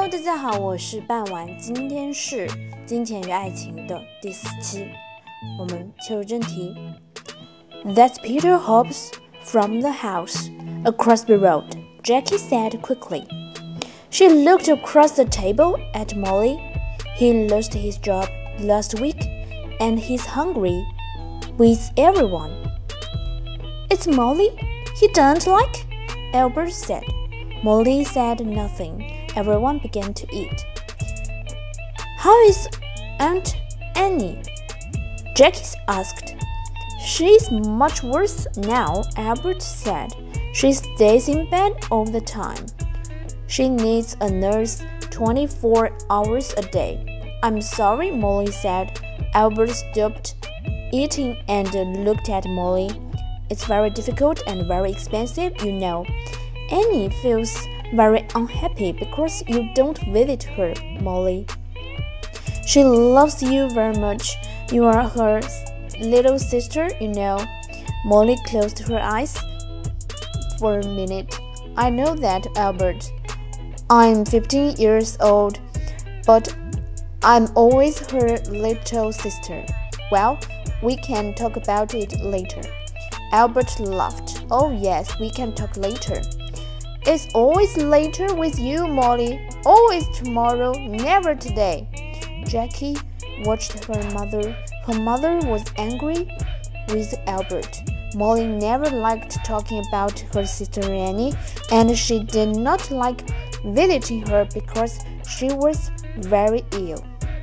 大家好，我是半晚，今天是金钱与爱情的第4期，我们切入正题。That's Peter Hobbs from the house across the road, Jackie said quickly. She looked across the table at Molly. He lost his job last week, and he's hungry with everyone. It's Molly he doesn't like, Albert said. Molly said nothing.Everyone began to eat. How is Aunt Annie? Jackie asked. She's much worse now, Albert said. She stays in bed all the time. She needs a nurse 24 hours a day. I'm sorry, Molly said. Albert stopped eating and looked at Molly. It's very difficult and very expensive, you know. Annie feels...very unhappy because you don't visit her, Molly. She loves you very much. You are her little sister, you know. Molly closed her eyes for a minute. I know that, Albert. I'm 15 years old, but I'm always her little sister. Well, we can talk about it later. Albert laughed. Oh yes, we can talk later.It's always later with you, Molly. Always tomorrow, never today. Jackie watched her mother. Her mother was angry with Albert. Molly never liked talking about her sister Annie, and she did not like visiting her because she was very ill.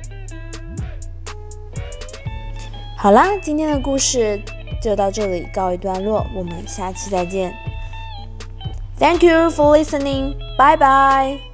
好啦，今天的故事就到这里告一段落，我们下期再见。Thank you for listening. Bye bye.